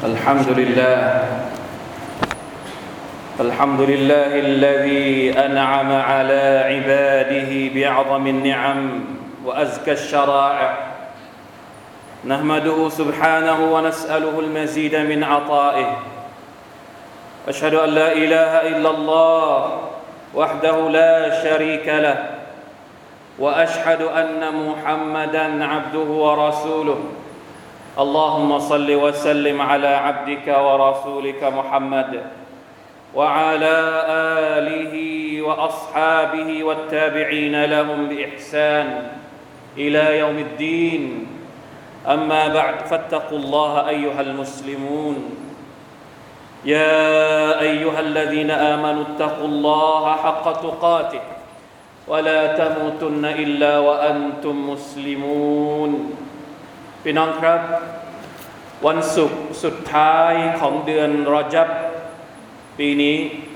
الحمد لله الحمد لله الذي أنعم على عباده بأعظم النعم وأزكى الشرائع نحمده سبحانه ونسأله المزيد من عطائه أشهد أن لا إله إلا الله وحده لا شريك له وأشهد أن محمدًا عبده ورسوله اللهم صل وسلم على عبدك ورسولك محمد وعلى آله وأصحابه والتابعين لهم بإحسان إلى يوم الدين أما بعد فاتقوا الله أيها المسلمون يا أيها الذين آمنوا اتقوا الله حق تقاته ولا تموتن إلا وأنتم مسلمون พี่น้องครับวันศุกร์สุดท้ายของเดือนรอญับปีนี้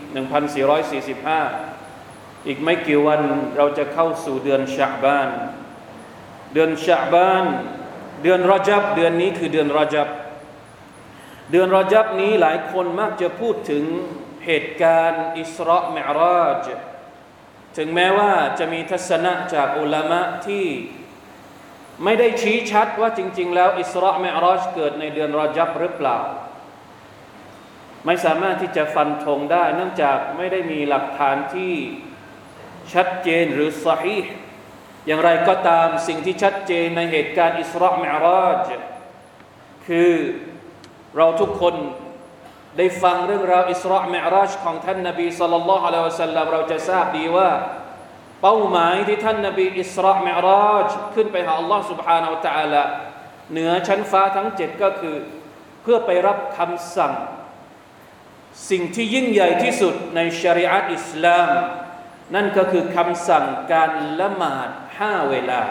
1445อีกไม่กี่วันเราจะเข้าสู่เดือนชะบานเดือนชะบานเดือนรอญับเดือนนี้คือเดือนรอญับเดือนรอญับนี้หลายคนมักจะพูดถึงเหตุการณ์อิสรามิอ์ราจถึงแม้ว่าจะมีทัศนะจากอุลามะที่ไม่ได้ชี้ชัดว่าจริงๆแล้วอิสรามิอ์ราจเกิดในเดือนรอญับหรือเปล่าไม่สามารถที่จะฟันธงได้เนื่องจากไม่ได้มีหลักฐานที่ชัดเจนหรือซอฮีห์อย่างไรก็ตามสิ่งที่ชัดเจนในเหตุการณ์อิสรามิอ์ราจคือเราทุกคนได้ฟังเรื่องราวอิสรามิอ์ราจของท่านนบีศ็อลลัลลอฮุอะลัยฮิวะซัลลัมเราจะทราบดีว่าเป้าหมายที่ท่านนบีอิสรามิอ์ราจขึ้นไปหาอัลลอฮ์ سبحانه และ تعالى เหนือชั้นฟ้าทั้ง7ก็คือเพื่อไปรับคำสั่งสิ่งที่ยิ่งใหญ่ที่สุดในชะรีอะห์อิสลามนั่นก็คือคำสั่งการละหมาด5เวลา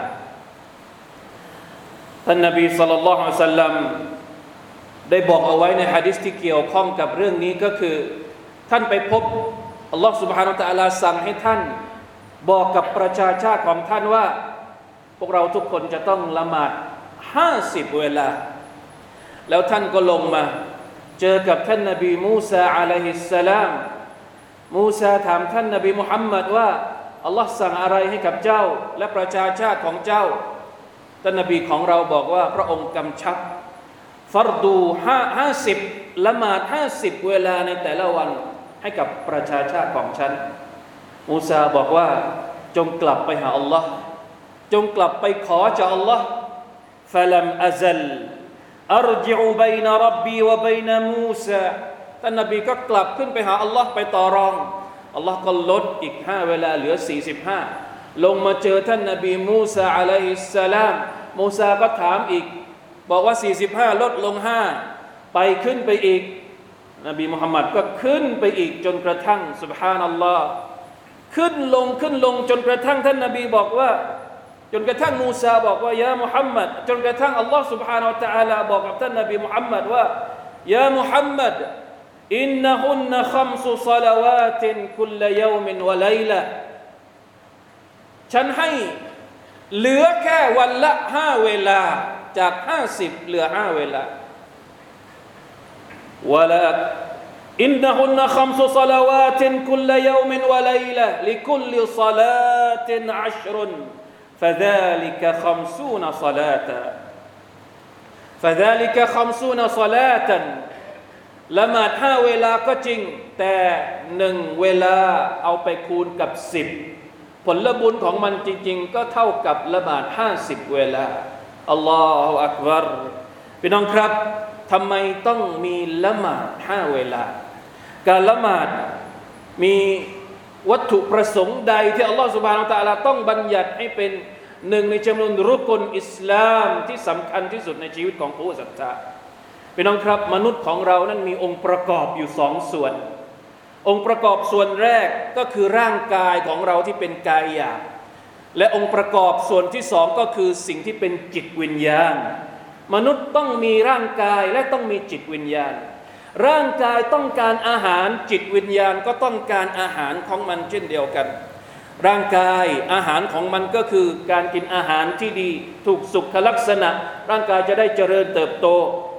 ท่านนบีศ็อลลัลลอฮุอะลัยฮิวะซัลลัมได้บอกเอาไว้ในหะดีษที่เกี่ยวข้องกับเรื่องนี้ก็คือท่านไปพบอัลลอฮฺ سبحانه และ تعالى สั่งให้ท่านบอกกับประชาชาติของท่านว่าพวกเราทุกคนจะต้องละหมาด50เวลาแล้วท่านก็ลงมาเจอกับท่านนบีมูซาอะลัยฮิสสลามมูซาถามท่านนบีมุฮัมมัดว่าอัลลอฮ์สั่งอะไรให้กับเจ้าและประชาชาติของเจ้าท่านนบีของเราบอกว่าพระองค์กำชับฟัรดู50ละหมาด50เวลาในแต่ละวันให้กับประชาชาติของฉันมูซาบอกว่าจงกลับไปหาอัลลอฮ์จงกลับไปขอจากอัลลอฮ์ฟะลัมอะซัลอัรญิอุบัยนะร็อบบีวะบัยนะมูซาท่านนบีก็กลับขึ้นไปหาอัลลอฮ์ไปต่อรองอัลลอฮ์ก็ลดอีก5เวลาเหลือ45ลงมาเจอท่านนบีมูซาอะลัยฮิสสลามมูซาก็ถามอีกบอกว่า45ลดลง5ไปขึ้นไปอีกนบีมุฮัมมัดก็ขึ้นไปอีกจนกระทั่งซุบฮานัลลอฮ์ขึ้นลงจนกระทั่งท่านนบีบอกว่าจนกระทั่งมูซาบอกว่ายามุฮัมมัดจนกระทั่งอัลลอฮ์ سبحانه และ تعالى บอกกับท่านนบีมุฮัมมัดว่ายามุฮัมมัดอินนะฮุนนะคัมซุศอลาวาตินคุลยอมินวะไลละฉันให้เหลือแค่วันละ5เวลาจาก50เหลือ5เวลาวะลาอินนะฮุนนะคัมซุศอลาวาตินคุลยอมินวะไลละลิคุลศอลาติน10فذلك 50 صلاة فذلك 50 صلاة ละหมาด5เวลาก็จริงแต่1เวลาเอาไปคูณกับ10ผลบุญของมันจริงๆก็เท่ากับละหมาด50เวลาอัลลอฮฺอักบัรพี่น้องครับทำไมต้องมีละหมาด5เวลาการละหมาดมีวัตถุประสงค์ใดที่อัลลอฮฺ سبحانه และ تعالى ต้องบัญญัติให้เป็นหนึ่งในจำนวนรุกลอิสลามที่สำคัญที่สุดในชีวิตของผู้ศรัทธาพี่น้องครับมนุษย์ของเรานั้นมีองค์ประกอบอยู่2ส่วนองค์ประกอบส่วนแรกก็คือร่างกายของเราที่เป็นกายหยาบและองค์ประกอบส่วนที่2ก็คือสิ่งที่เป็นจิตวิญญาณมนุษย์ต้องมีร่างกายและต้องมีจิตวิญญาณร่างกายต้องการอาหารจิตวิญญาณก็ต้องการอาหารของมันเช่นเดียวกัน ร่างกายอาหารของมันก็คือการกินอาหารที่ดีถูกสุขลักษณะร่างกายจะได้เจริญเติบโต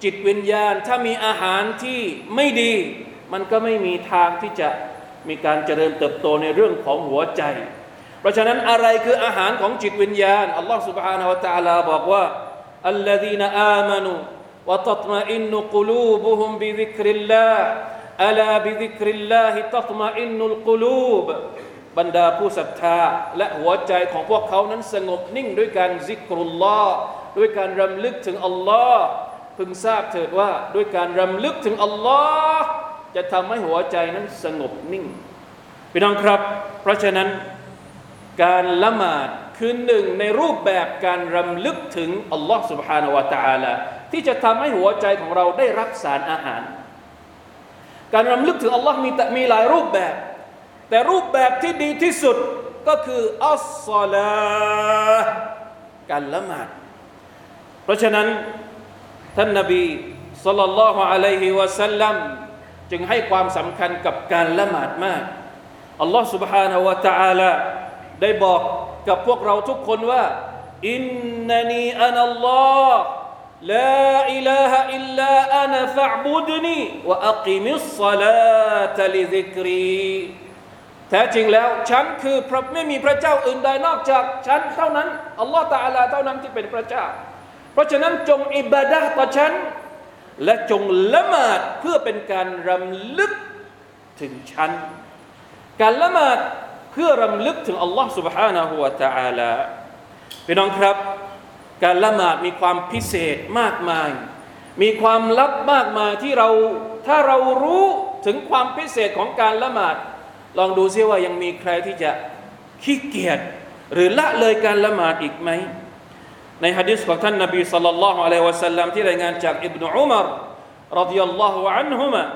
จิตวิญญาณถ้ามีอาหารที่ไม่ดีมันก็ไม่มีทางที่จะมีการเจริญเติบโตในเรื่องของหัวใจเพราะฉะนั้นอะไรคืออาหารของจิตวิญญาณอัลลอฮฺ سبحانه และ تعالى บอกว่าอัลลซีนอามานูวะตัตมะอินนุกุลูบุฮุมบิซิกริลลาฮ์อะลาบิซิกริลลาฮิตัตมะอินนุลกุลูบบรรดาผู้ศรัทธาและหัวใจของพวกเขานั้นสงบนิ่งด้วยการซิกรุลลอฮ์ด้วยการรำลึกถึงอัลลอฮ์พึงทราบเถิดว่าด้วยการรำลึกถึงอัลลอฮ์จะทำให้หัวใจนั้นสงบนิ่งพี่น้องครับเพราะฉะนั้นการละหมาดคือหนึ่งในรูปแบบการรำลึกถึงอัลลอฮ์ سبحانه และ تعالى ที่จะทำให้หัวใจของเราได้รับสารอาหารการรำลึกถึงอัลลอฮ์มีหลายรูปแบบแต่รูปแบบที่ดีที่สุดก็คืออัศศอลาห์การละหมาดเพราะฉะนั้นท่านนบีศ็อลลัลลอฮุอะลัยฮิวะซัลลัมจึงให้ความสำคัญกับการละหมาดมากอัลลอฮ์ سبحانه และ تعالى ได้บอกกับพวกเราทุกคนว่าอินนานีอานัลลอฮ์ลาอิลาฮะอิลลาอานะฟะอ์บุดนีวะอักิมิศศอลาตะลิซิกรีแท้จริงแล้วฉันคือไม่มีพระเจ้าอื่นใดนอกจากฉันเท่านั้นอัลลอฮ์ตะอาลาเท่านั้นที่เป็นพระเจ้าเพราะฉะนั้นจงอิบาดะห์ต่อฉันและจงละหมาดเพื่อเป็นการรำลึกถึงฉันการละหมาดเพื่อรำลึกถึงอัลลอฮ์ سبحانه และ تعالى พี่น้องครับการละหมาดมีความพิเศษมากมายมีความลับมากมายที่ถ้าเรารู้ถึงความพิเศษของการละหมาดลองดูซิว่ายังมีใครที่จะขี้เกียจหรือละเลยการละหมาดอีกไหมในหะดีษของท่านนบีศ็อลลัลลอฮุอะลัยฮิวะซัลลัมที่รายงานจากอิบนุอุมัรรอฎิยัลลอฮุอันฮุมะ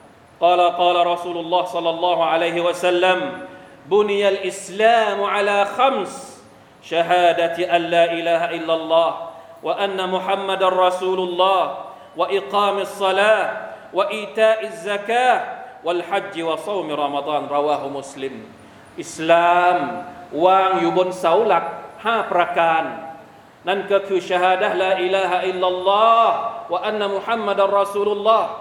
قال قال رسول الله صلى الله عليه وسلم بني الإسلام على خمس شهادة أن لا إله إلا الله وأن محمد رسول الله وإقام الصلاة وإيتاء الزكاة والحج وصوم رمضان رواه مسلم อิสลามวางอยู่บนเสาหลัก5ประการนั่นก็คือชะฮาดะห์ลาอิลาฮะอิลลัลลอฮ์วะอันนะมุฮัมมัดอัรรอซูลุลลอฮ์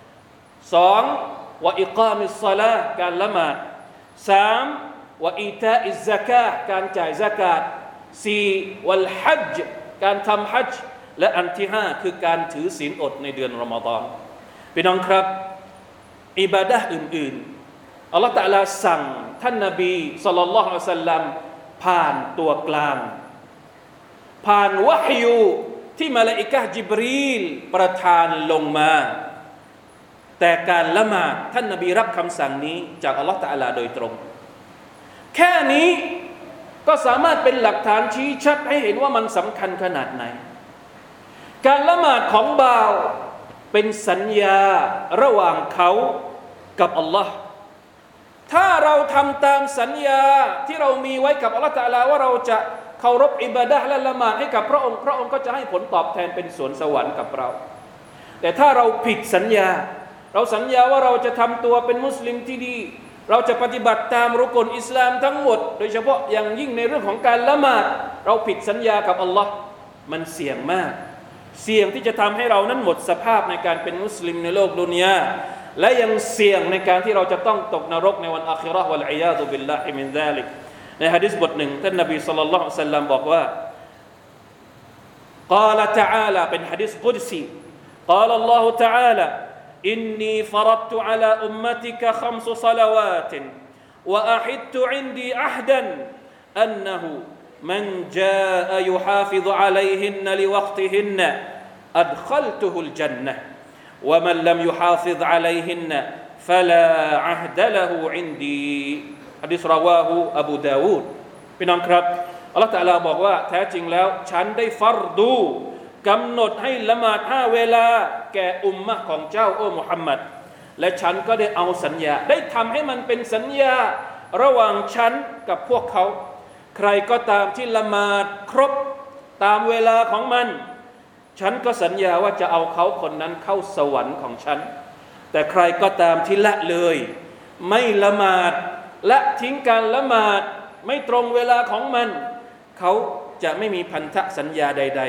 2วะอิกามิศศอลาห์การละหมาด3วะอีตาอิซซะกาห์การจ่ายซะกาต4วัลฮัจญ์การทำฮัจญ์และอันที่5คือการถือศีลอดในเดือนรอมฎอนพี่น้องครับอิบาดะห์อื่นๆอัลเลาะห์ตะอาลาสั่งท่านนบีศ็อลลัลลอฮุอะลัยฮิวะซัลลัมผ่านตัวกลางผ่านวะฮยูที่มลาอิกะฮ์ญิบรีลประทานลงมาแต่การละหมาดท่านนบีรับคำสั่งนี้จากอัลเลาะห์ตะอาลาโดยตรงแค่นี้ก็สามารถเป็นหลักฐานชี้ชัดให้เห็นว่ามันสำคัญขนาดไหนการละหมาดของบ่าวเป็นสัญญาระหว่างเขากับอัลลอฮ์ถ้าเราทำตามสัญญาที่เรามีไว้กับอัลลอฮ์ตะอาลาว่าเราจะเคารพอิบาดะห์และละหมาดให้กับพระองค์ก็จะให้ผลตอบแทนเป็นสวนสวรรค์กับเราแต่ถ้าเราผิดสัญญาเราสัญญาว่าเราจะทำตัวเป็นมุสลิมที่ดีเราจะปฏิบัติตามรุกนอิสลามทั้งหมดโดยเฉพาะอย่างยิ่งในเรื่องของการละหมาดเราผิดสัญญากับอัลลอฮ์มันเสี่ยงมากเสี่ยงที่จะทำให้เรานั้นหมดสภาพในการเป็นมุสลิมในโลกดุนยาและยังเสี่ยงในการที่เราจะต้องตกนรกในวันอาคิเราะห์วัลอียาซุบิลลาฮิมินซาลิกในหะดีษบทหนึ่งท่านนบีศ็อลลัลลอฮุอะลัยฮิวะซัลลัมบอกว่า قال تعالى เป็นหะดีษกุดซี قال الله تعالى إني فرضت على أمتك 5 صلوات وأحدت عندي عهدا أنه من جاء يحافظ عليهن لوقتهن أدخلته الجنة ومن لم يحافظ عليهن فلا عهد له عنديหะดีษรอวาฮูอบูดาวูดพี่น้องครับอัลเลาะห์ตะอาลาบอกว่าแท้จริงแล้วฉันได้ฟัรดูกำหนดให้ละหมาด5เวลาแก่อุมมะห์ของเจ้าโอ้มุฮัมมัดและฉันก็ได้เอาสัญญาได้ทำให้มันเป็นสัญญาระหว่างฉันกับพวกเขาใครก็ตามที่ละหมาดครบตามเวลาของมันฉันก็สัญญาว่าจะเอาเขาคนนั้นเข้าสวรรค์ของฉันแต่ใครก็ตามที่ละเลยไม่ละหมาดและทิ้งการละหมาดไม่ตรงเวลาของมันเขาจะไม่มีพันธสัญญาใด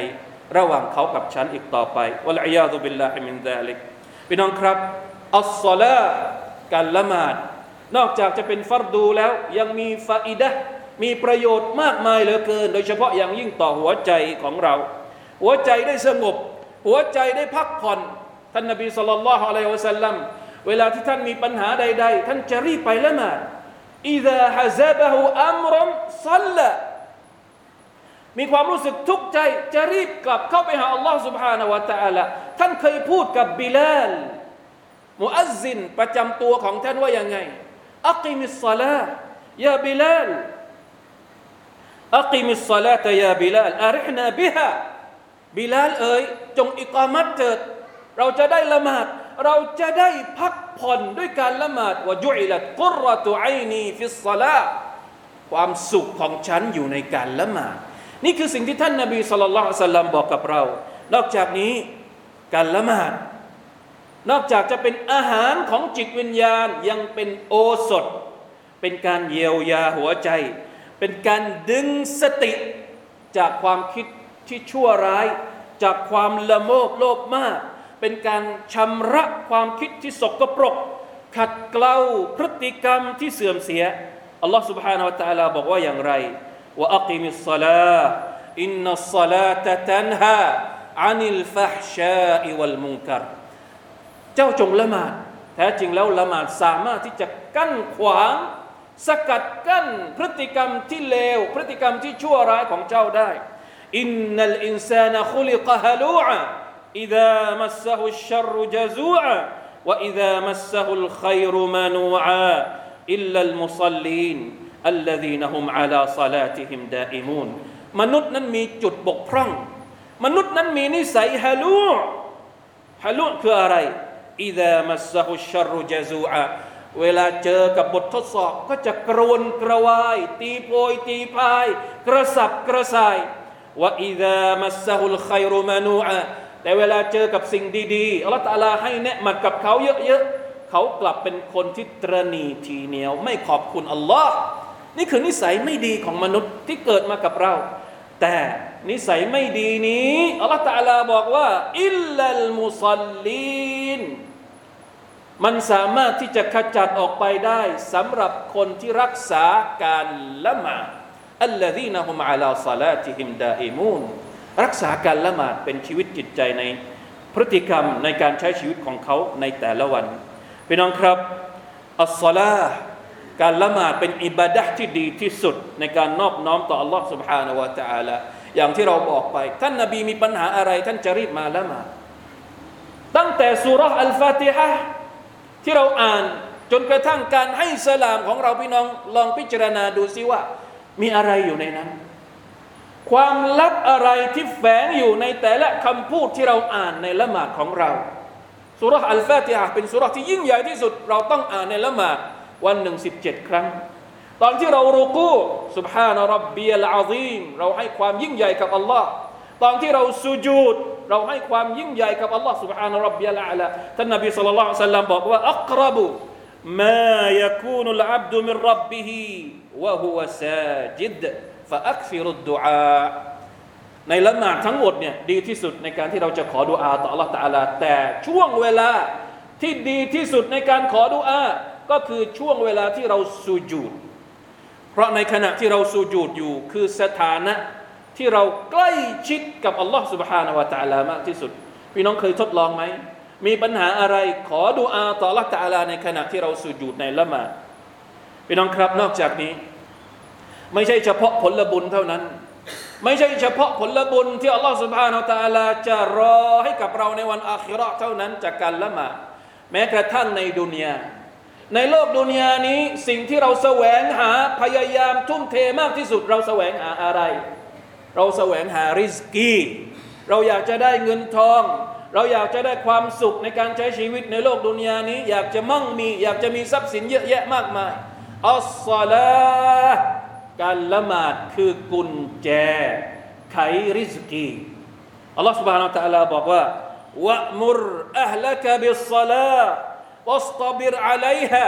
ระหว่างเขากับฉันอีกต่อไปวัลอียาซุบิลลาฮิมินซาลิกพี่น้องครับอัศศอลาห์การละหมาดนอกจากจะเป็นฟัรดูแล้วยังมีฟาอิดะห์มีประโยชน์มากมายเหลือเกินโดยเฉพาะอย่างยิ่งต่อหัวใจของเราหัวใจได้สงบหัวใจได้พักผ่อนท่านนบีศ็อลลัลลอฮุอะลัยฮิวะซัลลัมเวลาที่ท่านมีปัญหาใดๆท่านจะรีบไปละหมาดอิซาฮะซะบะฮูอัมรันศ็อลลามีความรู้สึกทุกข์ใจจะรีบกลับเข้าไปหาอัลลอฮ์ سبحانه และ تعالى ท่านเคยพูดกับบิลาลมุอัซซินประจำตัวของท่านว่ายังไงอักิมิสศอลาห์ยาบิลาลอักิมิสศอลาตยาบิลาลอาริฮนาบิฮาบิลาลเอ๋ยจงอิกามัตเถิดเราจะได้ละหมาดเราจะได้พักผ่อนด้วยการละหมาดวะจุอิลัตกุรเราะตุอัยนีฟิศศอลาห์ความสุขของฉันอยู่ในการละหมาดนี่คือสิ่งที่ท่านนบีศ็อลลัลลอฮุอะลัยฮิวะซัลลัมบอกกับเรานอกจากนี้การละหมาดนอกจากจะเป็นอาหารของจิตวิญญาณยังเป็นโอสถเป็นการเยียวยาหัวใจเป็นการดึงสติจากความคิดที่ชั่วร้ายจากความละโมบโลภมากเป็นการชำระความคิดที่สกปรกขัดเกลาพฤติกรรมที่เสื่อมเสียอัลลอฮฺ سبحانه และ تعالى บอกว่าอย่างไรวะอักิมิสศอลาห์อินนัสศอลาตะตันฮาอานิลฟะฮชาอิวัลมุนกัรเจ้าจงละหมาดแท้จริงแล้วละหมาดสามารถที่จะกั้นขวางสกัดกั้นพฤติกรรมที่เลวพฤติกรรมที่ชั่วร้ายของเจ้าได้อินนัลอินซานะคุลิกะฮะลูอะอิซามัสซะฮุชชัรรุญะซูอะวะอิซามัสซะฮุลค็อยรุมานูอะอิลลัลมุศอลลีนอัลลซีนะฮุมอะลาศอลาติฮิมดาอิมูนมนุษย์นั้นมีจุดบกพร่องมนุษย์นั้นมีนิสัยฮะลูคืออะไรอิซามัสซะฮุชชัรรุญะซูอะเวลาเจอกับบททดสอบก็จะกระวนกระวายตีโพยตีพายกระสับกระส่ายวะอิซามัสซะฮุลค็อยรุมานูอะแต่เวลาเจอกับสิ่งดีๆอัลเลาะห์ตะอาลาให้เนือมัดกับเขาเยอะๆเขากลับเป็นคนที่ตระหนี่ทีเหนียวไม่ขอบคุณอัลลอฮ์นี่คือนิสัยไม่ดีของมนุษย์ที่เกิดมากับเราแต่นิสัยไม่ดีนี้อัลเลาะห์ตะอาลาบอกว่าอิลลัลมุศอลลีนมันสามารถที่จะขจัดออกไปได้สำหรับคนที่รักษาการละหมาดอัลลซีนะฮุมอะลาศอลาติฮิมดาอิมูนรักษาการละหมาดเป็นชีวิตจิตใจในพฤติกรรมในการใช้ชีวิตของเขาในแต่ละวันพี่น้องครับอัศศอลาห์การละหมาดเป็นอิบาดะห์ที่ดีที่สุดในการนอบน้อมต่อ Allah سبحانه และ تعالى อย่างที่เราบอกไปท่านนบีมีปัญหาอะไรท่านจะรีบมาละหมาดตั้งแต่ซูเราะห์อัลฟาติฮะห์ที่เราอ่านจนกระทั่งการให้สลามของเราพี่น้องลองพิจารณาดูซิว่ามีอะไรอยู่ในนั้นความลับอะไรที่แฝงอยู่ในแต่ละคำพูดที่เราอ่านในละหมาดของเราซูเราะห์อัลฟาติฮะห์เป็นซูเราะห์ที่ยิ่งใหญ่ที่สุดเราต้องอ่านในละหมาดวันหนึ่ง17 ครั้งตอนที่เรารุกูซุบฮานะร็อบบิยัลอะซีมเราให้ความยิ่งใหญ่กับอัลลอฮ์ตอนที่เราสุญูดเราให้ความยิ่งใหญ่กับอัลลอฮ์ซุบฮานะร็อบบิยัลอาลาท่านนบีศ็อลลัลลอฮุอะลัยฮิวะซัลลัมบอกว่าอักรบุมายักูนุลอับดุมินร็อบบิฮิวะฮุวะซาจิดฟะอักฟิรุดดุอาในละหมาดทั้งหมดเนี่ยดีที่สุดในการที่เราจะขอดุอาต่ออัลลอฮ์ตะอาลาแต่ช่วงเวลาที่ดีที่สุดในการขอดุอาก็คือช่วงเวลาที่เราสุญูดเพราะในขณะที่เราสุญูดอยู่คือสถานะที่เราใกล้ชิดกับอัลลอฮ์ سبحانه และ تعالى มากที่สุดพี่น้องเคยทดลองไหมมีปัญหาอะไรขอดุอาต่ออัลลอฮ์ تعالى ในขณะที่เราสุญูดในละหมาดพี่น้องครับนอกจากนี้ไม่ใช่เฉพาะผลบุญเท่านั้นไม่ใช่เฉพาะผลบุญที่อัลลอฮ์ سبحانه และ تعالى จะรอให้กับเราในวันอาคิเราะห์เท่านั้นจากการละหมาดแม้กระทั่งในดุนยาในโลกดุนยานี้สิ่งที่เราแสวงหาพยายามทุ่มเทมากที่สุดเราแสวงหาอะไรเราแสวงหาริสกีเราอยากจะได้เงินทองเราอยากจะได้ความสุขในการใช้ชีวิตในโลกดุนยานี้อยากจะมั่งมีอยากจะมีทรัพย์สินเยอะแยะมากมายอัศศอลาห์การละหมาดคือกุญแจไขริสกีอัลลอฮฺ سبحانه และ تعالى บอกว่าวะมุรอะห์ละกะบิศศอลาห์واصطبر عليها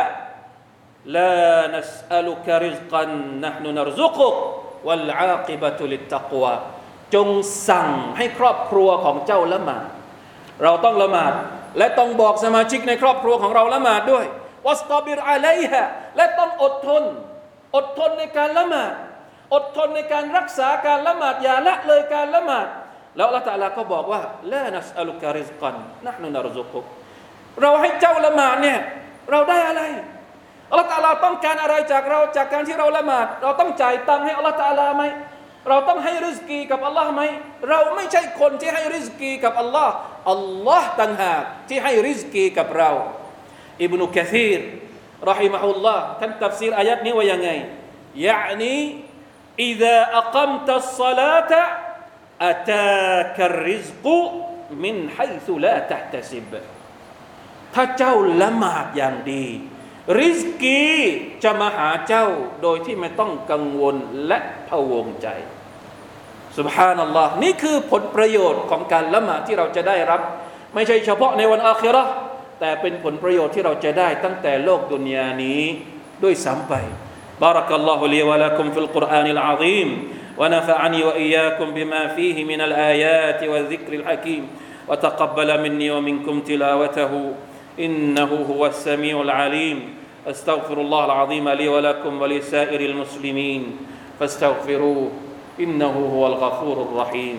لا نسألك رزقا نحن نرزقك والعاقبة للتقوى จงสั่งให้ครอบครัวของเจ้าละหมาดเราต้องละหมาดและต้องบอกสมาชิกในครอบครัวของเราละหมาดด้วยวัสตอบิรอะลัยฮะและต้องอดทนในการละหมาดอดทนในการรักษาการละหมาดอย่าละเลยการละหมาดแล้วอัลเลาะห์ตะอาลาก็บอกว่าลานัสอะลุกะริซกันนะห์นุนัรซุกุกเราให้เจ้าละหมาดเนี่ยเราได้อะไรอัลเลาะห์ตะอาลาต้องการอะไรจากเราจากการที่เราละหมาดเราต้องจ่ายตังค์ให้อัลเลาะห์ตะอาลาไหมเราต้องให้ริซกีกับอัลลอฮ์ไหมเราไม่ใช่คนที่ให้ริซกีกับอัลลอฮ์อัลลอฮ์ต่างหากที่ให้ริซกีกับเราอิบนุกะซีรรอฮิมะฮุลลอฮ์ท่านตัฟซีรอายัดนี้ว่ายังไงยะนีอิซาอักัมตัสศอลาตะอะตากะริซกุมินไฮซุลาตะห์ตะซิบถ้าเจ้าละหมาดอย่างดีริซกีจะมาหาเจ้าโดยที่ไม่ต้องกังวลและพะวงใจซุบฮานัลลอฮ์นี่คือผลประโยชน์ของการละหมาดที่เราจะได้รับไม่ใช่เฉพาะในวันอาคิเราะห์แต่เป็นผลประโยชน์ที่เราจะได้ตั้งแต่โลกดุนยานี้ด้วยซ้ำไปบารักัลลอฮุลีวะละกุมฟิลกุรอานิลอะซีมونفعني وإياكم بما فيه من الآيات والذكر الحكيم وتقبل مني ومنكم تلاوته إنه هو السميع العليم أستغفر الله العظيم لي ولكم ولسائر المسلمين فاستغفروه إنه هو الغفور الرحيم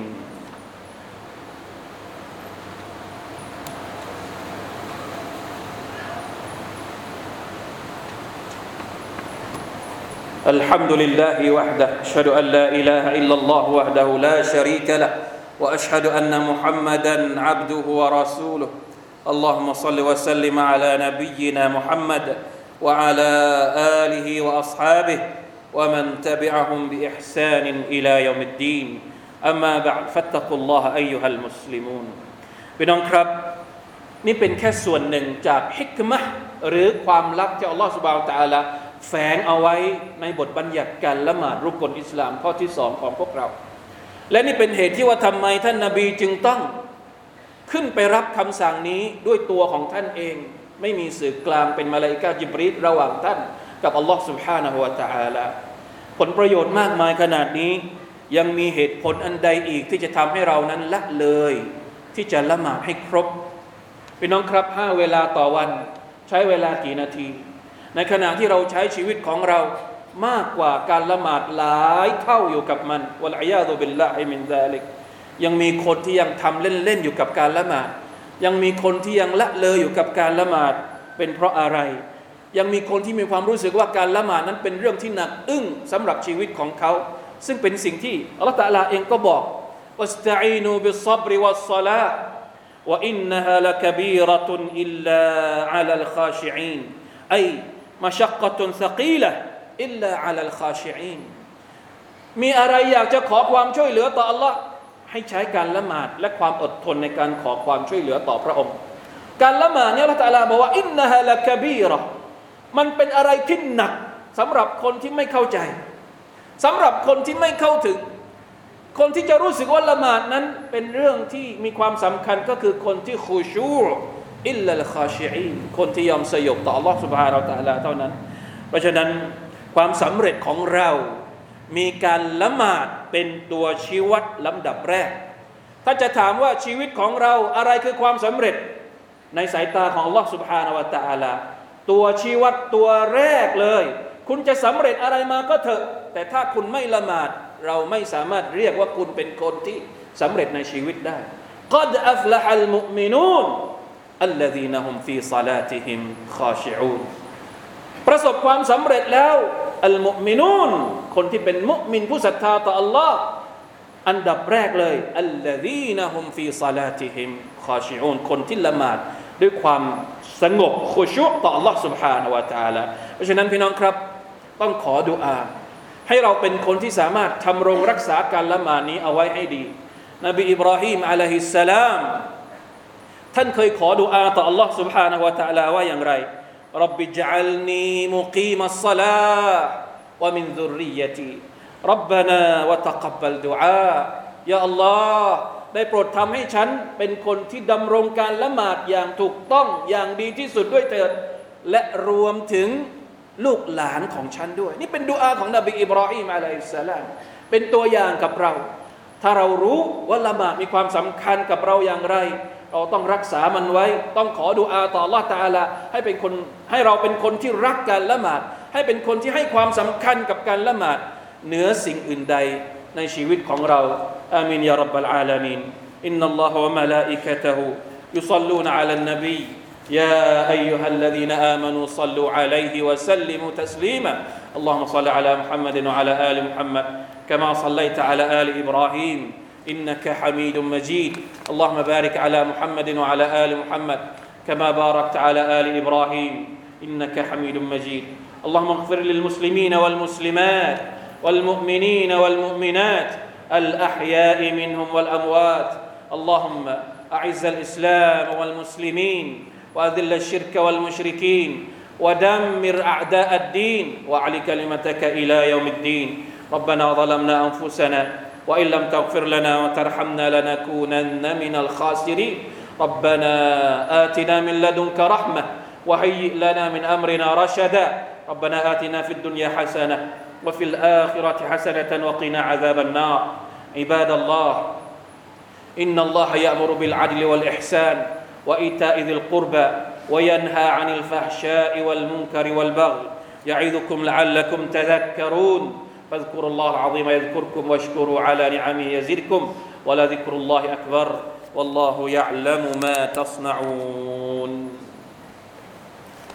الحمد لله وحده أشهد أن لا إله إلا الله وحده لا شريك له وأشهد أن محمدا عبده ورسوله اللهم صل وسلم على نبينا محمد وعلى آله وأصحابه ومن تبعهم بإحسان إلى يوم الدين أما بعد فاتقوا الله أيها المسلمون พี่น้องครับนี่เป็นแค่ส่วนหนึ่งจากฮิกมะห์หรือความลับที่อัลลอฮฺซุบฮานะฮูวะตะอาลาแฝงเอาไว้ในบทบัญญัติการละหมาดรุกนอิสลามข้อที่2ของพวกเราและนี่เป็นเหตุที่ว่าทำไมท่านนบีจึงต้องขึ้นไปรับคำสั่งนี้ด้วยตัวของท่านเองไม่มีสื่อกลางเป็นมลาอิกะฮ์ญิบรีลระหว่างท่านกับอัลลอฮ์ سبحانه และ تعالى ผลประโยชน์มากมายขนาดนี้ยังมีเหตุผลอันใดอีกที่จะทำให้เรานั้นละเลยที่จะละหมาดให้ครบพี่น้องครับ5เวลาต่อวันใช้เวลากี่นาทีในขณะที่เราใช้ชีวิตของเรามากกว่าการละหมาดหลายเท่าอยู่กับมันวัลอียาซุบิลลาฮิมินซาลิกยังมีคนที่ยังทำเล่นๆอยู่กับการละหมาดยังมีคนที่ยังละเลยอยู่กับการละหมาดเป็นเพราะอะไรยังมีคนที่มีความรู้สึกว่าการละหมาดนั้นเป็นเรื่องที่หนักอึ้งสำหรับชีวิตของเขาซึ่งเป็นสิ่งที่อัลเลาะห์ตะอาลาเองก็บอกวัสตะอีนูบิศศอบริวัสศอลาฮ์วะอินนะฮาละกะบีเราะตุนอิลลาอะลัลคาชิอีนไอมะชักกะตุนษะกีละห์อิลลาอะลัลคาชิอีนมีอะไรอยากจะขอความช่วยเหลือต่ออัลเลาะห์ให้ใช้การละหมาดและความอดทนในการขอความช่วยเหลือต่อพระองค์การละหมาดเนี่ยอัลเลาะห์ตะอาลาบอกว่าอินนะฮาละกะบีเราะห์มันเป็นอะไรที่หนักสำหรับคนที่ไม่เข้าใจสำหรับคนที่ไม่เข้าถึงคนที่จะรู้สึกว่าละหมาดนั้นเป็นเรื่องที่มีความสำคัญก็คือคนที่คุชูอิลลัลคาชิอีนคนที่ยอมสยบต่อ Allah Subhanahu Wa Taala เท่านั้นเพราะฉะนั้นความสำเร็จของเรามีการละหมาดเป็นตัวชี้วัดลำดับแรกถ้าจะถามว่าชีวิตของเราอะไรคือความสำเร็จในสายตาของ Allah Subhanahu Wa Taala ตัวชี้วัดตัวแรกเลยคุณจะสำเร็จอะไรมาก็เถอะแต่ถ้าคุณไม่ละหมาดเราไม่สามารถเรียกว่าคุณเป็นคนที่สำเร็จในชีวิตได้กัดอัฟละฮัลมุอ์มินูนอัลลซีนะฮุมฟีศอลาติฮิมคอชิอูนประสบความสำเร็จแล้วอัลมุอ์มินูนคนที่เป็นมุอ์มินผู้ศรัทธาต่ออัลลอฮ์อันดับแรกเลยอัลลซีนะฮุมฟีศอลาติฮิมคอชิอูนคนที่ละหมาดด้วยความสงบคุชูต่ออัลลอฮ์ سبحانه และ تعالى เพราะฉะนั้นพี่น้องครับต้องขอดุอาให้เราเป็นคนที่สามารถทำรงรักษาการละหมาดนี้เอาไว้ให้ดีนบีอิบราฮิมอะลัยฮิสสลามท่านเคยขอดุอาต่อ Allah سبحانه และ تعالى ว่าอย่างไรร็อบบิญะลนีมุกีมัสศอลาฮ์วะมินซุรริยะตีร็อบบานาวะตักับบลดุอายาอัลลอฮ์ได้โปรดทำให้ฉันเป็นคนที่ดำรงการละหมาดอย่างถูกต้องอย่างดีที่สุดด้วยเถิดและรวมถึงลูกหลานของฉันด้วยนี่เป็นดุอาของนบีอิบราฮิมอะลัยฮิสสลามเป็นตัวอย่างกับเราถ้าเรารู้ว่าละหมาดมีความสำคัญกับเราอย่างไรเราต้องรักษามันไว้ต้องขอดุอาต่ออัลเลาะห์ตะอาลาให้เราเป็นคนที่รักการละหมาดให้เป็นคนที่ให้ความสำคัญกับการละหมาดเหนือสิ่งอื่นใดในชีวิตของเราอามีนยารับบลอาลามีนอินนัลลอฮะวะมะลาอิกะตุฮุยุศ็อลลูนอะลันนบีيا أيها الذين آمنوا صلوا عليه وسلموا تسليما اللهم صل على محمد وعلى آل محمد كما صليت على آل إبراهيم إنك حميد مجيد اللهم بارك على محمد وعلى آل محمد كما باركت على آل إبراهيم إنك حميد مجيد اللهم اغفر للمسلمين والمسلمات والمؤمنين والمؤمنات الأحياء منهم والأموات اللهم أعز الإسلام والمسلمين وأذل الشرك والمشركين ودمر أعداء الدين وأعل كلمتك إلى يوم الدين ربنا ظلمنا أنفسنا وإن لم تغفر لنا وترحمنا لنكونن من الخاسرين ربنا آتنا من لدنك رحمة وهيئ لنا من أمرنا رشدا ربنا آتنا في الدنيا حسنة وفي الآخرة حسنة وقنا عذاب النار عباد الله إن الله يأمر بالعدل والإحسان وإيتاء ذي القربى وينهى عن الفحشاء والمنكر والبغي يعظكم لعلكم تذكرون فاذكروا الله العظيم يذكركم واشكروا على نعمه يزدكم ولذكر الله أكبر والله يعلم ما تصنعون